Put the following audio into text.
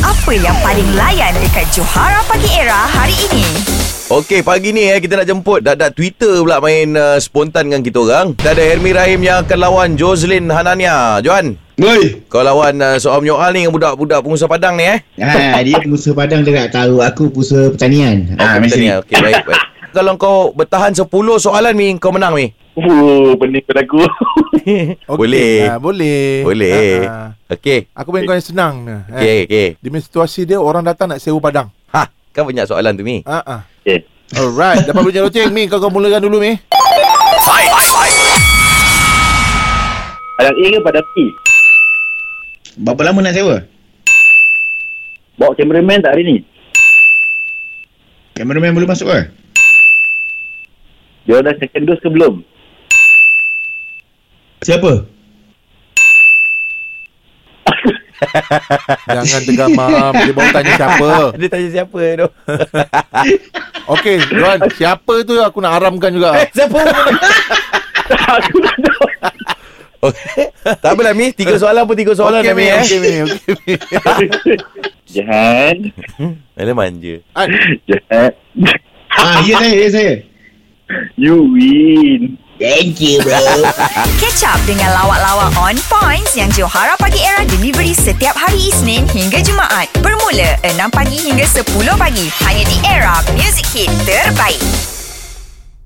Apa yang paling layan dekat Johara Pagi Era hari ini? Okey, pagi ni kita nak jemput Dak Twitter pula main spontan dengan kita orang. Kita ada Hermi Rahim yang akan lawan Jozlin Hanania. Johan, Boy. kau lawan soal menyoal ni dengan budak-budak pengusaha Padang ni Dia pengusaha Padang dia tak tahu. Aku pengusaha pertanian. Pertanian. Okey, baik. Kalau kau bertahan 10 soalan Mi, kau menang Mi. Pening pada aku. Boleh. Boleh. Okey. Aku main kau yang senang. Okey. Di situasi dia, orang datang nak sewa padang. Kan banyak soalan tu Mi. Okay. Alright. Dapat bunyi loceng Mi. Kau mulakan dulu Mi. Padang A ke Padang B? Berapa lama nak sewa? Bawa cameraman tak hari ni? Kameraman boleh masuk ke? Dia dah second dose ke belum? Siapa? Jangan tergamam. Dia baru tanya siapa. Dia tanya siapa tu. Okey, Johan. Siapa tu aku nak haramkan juga. Siapa? Aku tak tahu. Okay. Tak apalah Mi, 3 soalan pun 3 soalan Okey, Mi. Okey, Mi. Jahan. Ada manja. Jahan. Ya saya. You win. Thank you bro. Catch up dengan lawak-lawak on points yang Johara Pagi Era delivery setiap hari Isnin hingga Jumaat. Bermula 6 pagi hingga 10 pagi. Hanya di Era Music Hit terbaik.